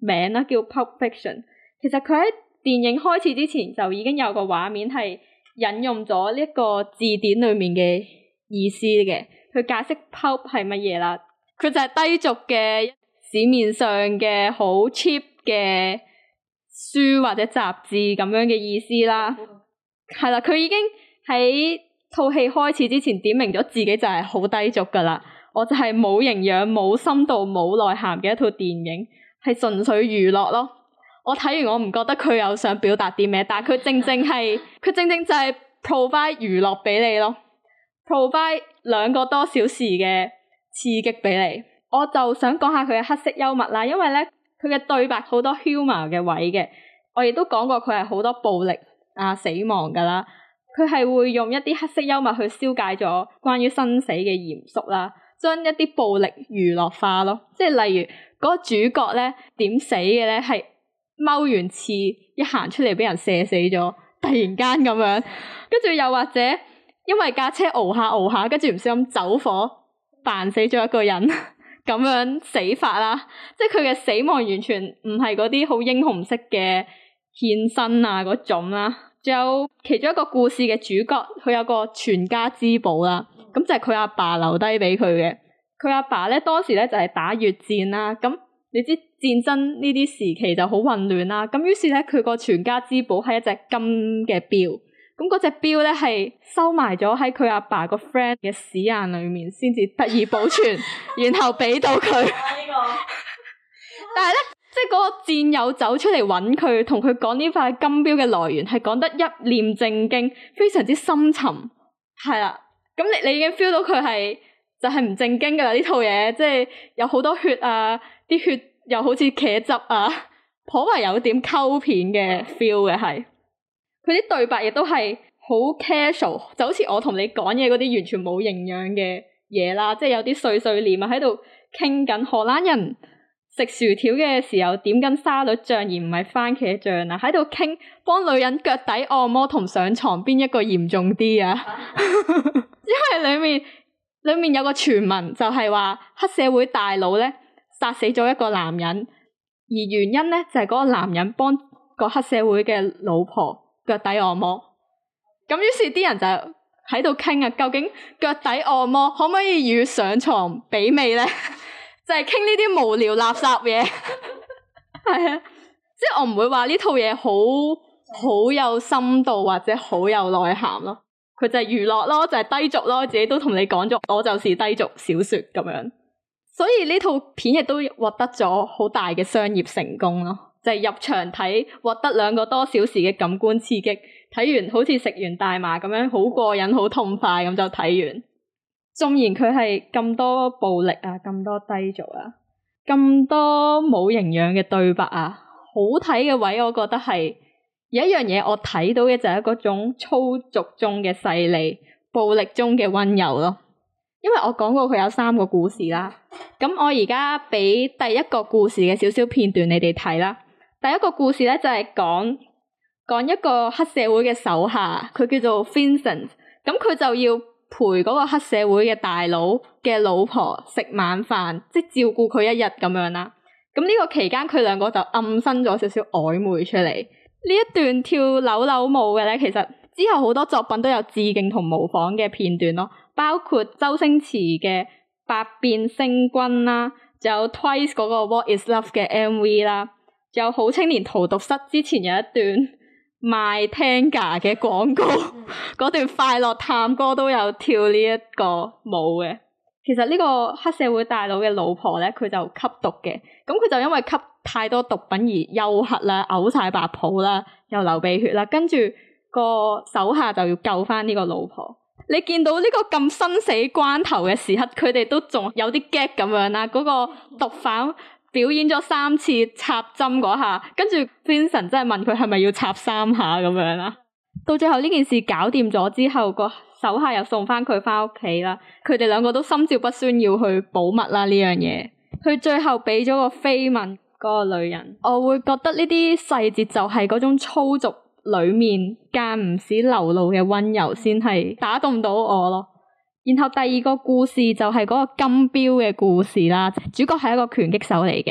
名啦，叫 Pulp Fiction。其實佢喺電影開始之前就已經有個畫面係引用咗呢一個字典裏面嘅意思嘅，去解釋 pulp 係乜嘢啦。佢就係低俗嘅市面上嘅好 cheap 嘅書或者雜誌咁樣嘅意思啦。係啦，佢已經喺套戲開始之前點明咗自己就係好低俗噶啦。我就係冇營養、冇深度、冇內涵嘅一套電影，係純粹娛樂咯。我睇完我唔覺得佢有想表達啲咩，但係佢正正就係 provide 娛樂俾你咯 ，provide 2個多小時嘅刺激俾你。我就想講下佢嘅黑色幽默啦，因為咧佢嘅對白好多 humor 嘅位嘅，我亦都講過佢係好多暴力啊死亡噶啦，佢係會用一啲黑色幽默去消解咗關於生死嘅嚴肅啦，將一啲暴力娛樂化咯，即係例如嗰個主角咧點死嘅咧係踎完刺一行出嚟俾人射死咗，突然間咁樣，跟住又或者因為架車熬下，跟住唔小心走火扮死咗一個人咁樣死法啦，即係佢嘅死亡完全唔係嗰啲好英雄式嘅獻身啊嗰種啦。仲有其中一個故事嘅主角，佢有個全家之寶啦，咁就係佢阿爸留低俾佢嘅。佢阿爸咧當時咧就係打越戰啦，咁你知戰爭呢啲時期就好混亂啦，咁於是咧佢個全家之寶係一隻金嘅錶，咁嗰隻錶咧係收埋咗喺佢阿爸個 friend 嘅屎眼裏面先至得以保存，然後俾到佢。但係咧，即係嗰個戰友走出嚟揾佢，同佢講呢塊金錶嘅來源，係講得一臉正經，非常之深沉，係啦。咁你已經 feel 到佢係就係唔正經噶啦呢套嘢，即係有好多血啊，啲血又好似茄汁啊，頗為有點溝片嘅 feel 嘅係。佢啲對白亦都係好 casual，就好似我同你講嘢嗰啲完全冇營養嘅嘢啦，即係有啲碎碎念啊喺度傾緊荷蘭人食薯條嘅時候點緊沙律醬而唔係番茄醬啊，喺度傾幫女人腳底按摩同上床邊一個嚴重啲啊因為裏面有個傳聞就係話黑社會大佬咧殺死咗一個男人，而原因咧就係嗰個男人幫個黑社會嘅老婆腳底按摩，咁於是啲人就喺度傾啊，究竟腳底按摩可唔可以與上床媲美咧？就係傾呢啲無聊垃圾嘢，係啊，即係我唔會話呢套嘢好有深度或者好有內涵咯，佢就係娛樂咯，就係低俗咯，自己都同你講咗，我就是低俗小說咁樣，所以呢套片亦都獲得咗好大嘅商業成功咯，就係入場睇獲得2個多小時嘅感官刺激，睇完好似食完大麻咁樣，好過癮好痛快咁就睇完。縱然佢係咁多暴力啊，咁多低俗啊，咁多冇營養嘅對白啊，好睇嘅位我覺得係有一樣嘢我睇到嘅就係嗰種粗俗中嘅細膩，暴力中嘅溫柔咯。因為我講過佢有3個故事啦，咁我而家俾第一個故事嘅少少片段你哋睇啦。第一個故事咧就係講一個黑社會嘅手下，佢叫做 Vincent， 咁佢就要陪嗰個黑社會嘅大佬嘅老婆食晚飯，即係照顧佢一日咁樣啦。咁呢個期間佢2個就暗生咗少少曖昧出嚟。呢一段跳扭扭舞嘅咧，其實之後好多作品都有致敬同模仿嘅片段咯，包括周星馳嘅《百變星君》啦，仲有 Twice 嗰個 What Is Love 嘅 MV 啦，仲有好青年荼毒室之前有一段賣 Tenga 嘅廣告，嗰段快樂探歌都有跳呢一個舞嘅。其實呢個黑社會大佬嘅老婆咧，佢就吸毒嘅，咁佢就因為吸太多毒品而休克啦，嘔晒白泡啦，又流鼻血啦，跟住個手下就要救翻呢個老婆。你見到呢個咁生死關頭嘅時刻，佢哋都仲有啲 gag 咁樣啦，嗰個毒販表演咗3次插針嗰下，跟住 Vincent 真係問佢係咪要插3下咁樣啦。到最後呢件事搞掂咗之後，個手下又送翻佢翻屋企啦。佢哋2個都心照不宣要去保密啦呢樣嘢。佢最後俾咗個飛吻嗰個女人，我會覺得呢啲細節就係嗰種粗俗裏面間唔時流露嘅溫柔先係打動到我咯。然後第2個故事就係嗰個金錶嘅故事啦，主角係一個拳擊手嚟嘅，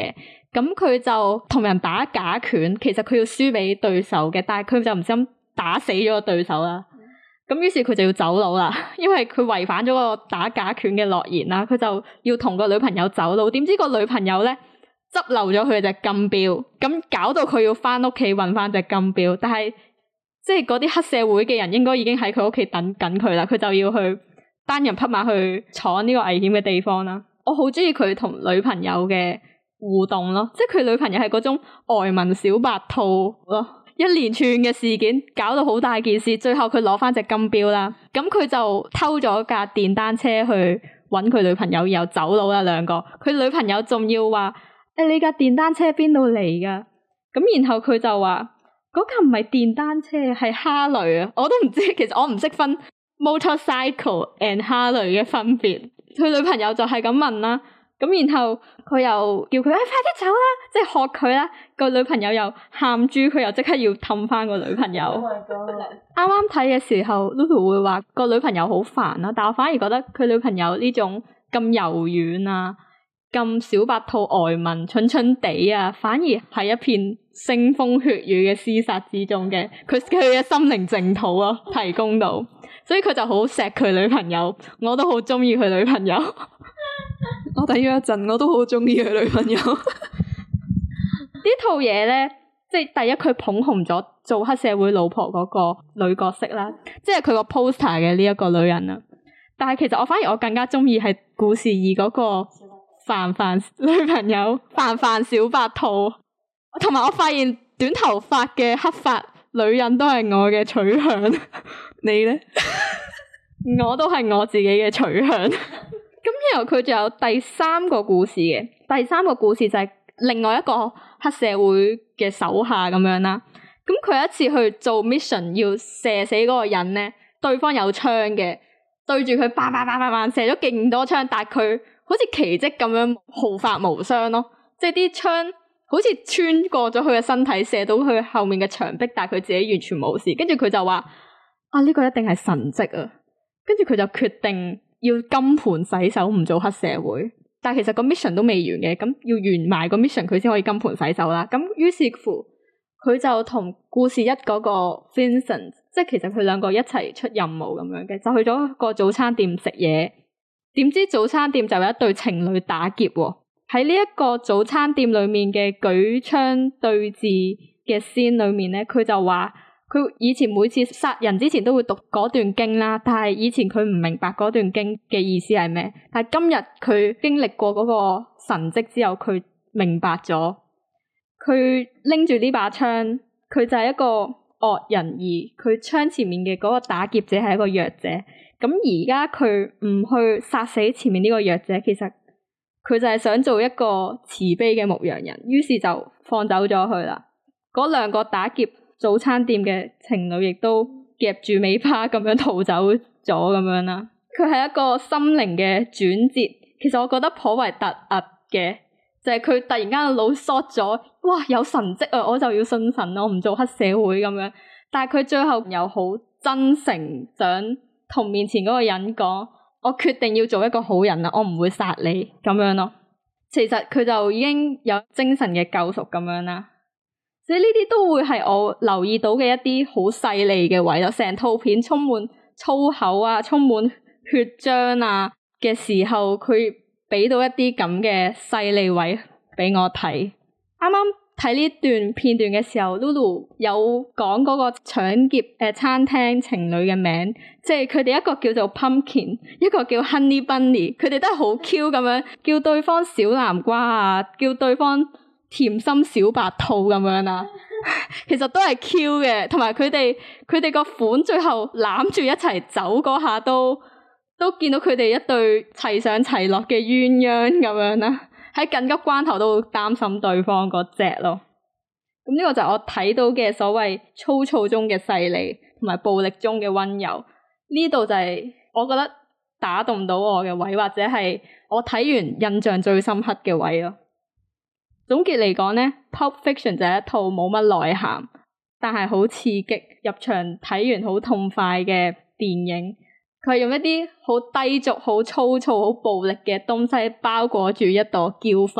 咁佢就同人打假拳，其實佢要輸俾對手嘅，但係佢就唔小心打死咗個對手啦。咁於是佢就要走佬啦，因為佢違反咗個打假拳嘅諾言啦，佢就要同個女朋友走佬。點知個女朋友咧執漏咗佢隻金錶，咁搞到佢要翻屋企搵翻隻金錶。但係即係嗰啲黑社會嘅人應該已經喺佢屋企等緊佢啦，佢就要去單人匹馬去闖呢個危險嘅地方啦。我好中意佢同女朋友嘅互動咯，即係佢女朋友係嗰種呆萌小白兔咯。一連串嘅事件搞到好大件事，最後佢攞翻隻金錶啦，咁佢就偷咗架電單車去搵佢女朋友，然後走佬啦兩個。佢女朋友仲要話：你架電單車邊度嚟噶？咁然後佢就話：嗰架唔係電單車，係哈雷啊！我都唔知，其實我唔識分 motorcycle and 哈雷嘅分別。佢女朋友就係咁問啦。咁然後佢又叫佢快啲走啦，即係學佢啦。個女朋友又喊豬，佢又即刻要氹翻個女朋友。啱啱睇嘅時候 Lulu 會話個女朋友好煩啦，但我反而覺得佢女朋友呢種咁柔軟啊，咁小白兔呆萌蠢蠢地啊，反而係一片腥風血雨嘅廝殺之中嘅，佢嘅心靈淨土啊提供到，所以佢就好錫佢女朋友，我都好中意佢女朋友。 我睇咗一陣，我都好中意佢女朋友。 呢套嘢咧，即係第一佢捧紅咗做黑社會老婆嗰個女角色啦，即係佢個 poster 嘅呢一個女人啦。但係其實我反而我更加中意係故事二嗰個范范女朋友，范范小白兔。同埋我發現短頭髮嘅黑髮女人都係我嘅取向。 你咧？ 我都係我自己嘅取向。咁然後佢仲有第三個故事嘅，第三個故事就係另外一個黑社會嘅手下咁樣啦。咁佢有一次去做 mission 要射死嗰個人咧，對方有槍嘅，對住佢叭叭叭叭叭射咗勁多槍，但係佢好似奇蹟咁樣毫髮無傷咯，即係啲槍好似穿過咗佢嘅身體，射到佢後面嘅牆壁，但係佢自己完全冇事。跟住佢就話：呢個一定係神蹟啊！跟住佢就決定要金盆洗手，唔做黑社會。但係其實個 mission 都未完嘅，咁要完埋個 mission 佢先可以金盆洗手啦。咁於是乎，佢就同故事一嗰個 Vincent， 即係其實佢兩個一齊出任務咁樣嘅，就去咗個早餐店食嘢。點知早餐店就有一對情侶打劫喎。喺呢一個早餐店裏面嘅舉槍對峙嘅 scene 裏面咧，佢就話佢以前每次殺人之前都會讀嗰段經啦，但係以前佢唔明白嗰段經嘅意思係咩，但係今日佢經歷過嗰個神蹟之後，佢明白咗。佢拎住呢把槍，佢就係一個惡人，而佢槍前面嘅嗰個打劫者係一個弱者。咁而家佢唔去殺死前面呢個弱者，其實佢就係想做一個慈悲嘅牧羊人，於是就放走咗佢啦。嗰兩個打劫早餐店嘅情侶亦都夾住尾巴咁樣逃走咗咁樣啦。佢係一個心靈嘅轉折，其實我覺得頗為突兀嘅，就係佢突然間個腦縮咗，哇有神蹟啊，我就要信神，我唔做黑社會咁樣。但係佢最後又好真誠，想同面前嗰個人講，我決定要做一個好人啦，我唔會殺你咁樣咯。其實佢就已經有精神嘅救贖咁樣啦。所以呢啲都會係我留意到嘅一啲好細膩嘅位咯。成套片充滿粗口啊，充滿血漿啊嘅時候，佢俾到一啲咁嘅細膩位俾我睇。啱啱睇呢段片段嘅時候 ，Lulu 有講嗰個搶劫餐廳情侶嘅名，即係佢哋一個叫做 Pumpkin， 一個叫 Honey Bunny， 佢哋都係好 Q 咁樣叫對方小南瓜啊，叫對方甜心小白兔咁樣啊，其實都係 Q 嘅，同埋佢哋個款最後攬住一齊走嗰下都見到佢哋一對齊上齊落嘅鴛鴦咁樣啦。喺緊急關頭都會擔心對方嗰隻咯。咁呢個就係我睇到嘅所謂粗糙中嘅細膩，同埋暴力中嘅溫柔。呢度就係我覺得打動到我嘅位，或者係我睇完印象最深刻嘅位咯。總結嚟講呢， Pulp Fiction 就係一套冇乜內涵，但係好刺激，入場睇完好痛快嘅電影。佢係用一啲好低俗、好粗糙、好暴力嘅東西包裹住一朵嬌花，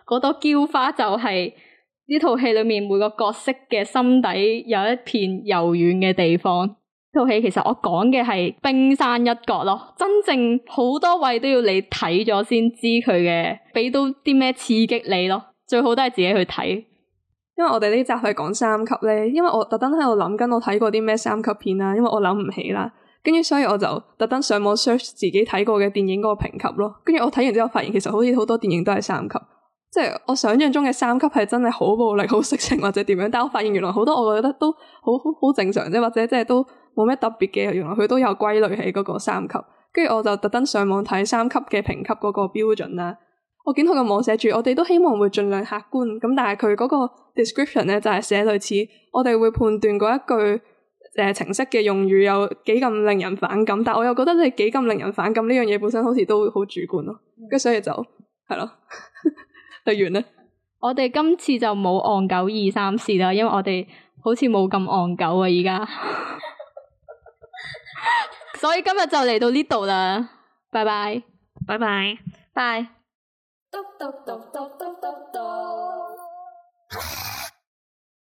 嗰朵嬌花就係呢套戲裏面每個角色嘅心底有一片柔軟嘅地方。套戲其實我講嘅係冰山一角咯，真正好多位都要你睇咗先知佢嘅，俾到啲咩刺激你咯。最好都係自己去睇。 因為我哋呢集係講三級咧，因為我特登喺度諗緊我睇過啲咩三級片啦，因為我諗唔起啦，跟住所以我就特登上網 search 自己睇過嘅電影嗰個評級咯，跟住我睇完之後發現其實好似好多電影都係三級，即係我想象中嘅三級係真係好暴力、好色情或者點樣，但我發現原來好多我覺得都好正常啫，或者即係都冇咩特別嘅，原來佢都有歸類喺嗰個三級，跟住我就特登上網睇三級嘅評級嗰個標準啦。我見佢個網寫住，我哋都希望會盡量客觀，咁但係佢嗰個 description 咧就係寫類似，我哋會判斷嗰一句情色嘅用語有幾咁令人反感，但我又覺得你幾咁令人反感呢樣嘢本身好似都好主觀咯，跟住所以就係咯，就完啦。 我哋今次就冇戇狗2、3事啦，因為我哋好似冇咁戇狗啊而家，所以今日就嚟到呢度啦，拜拜， 拜拜，拜。 嘟嘟嘟嘟嘟嘟嘟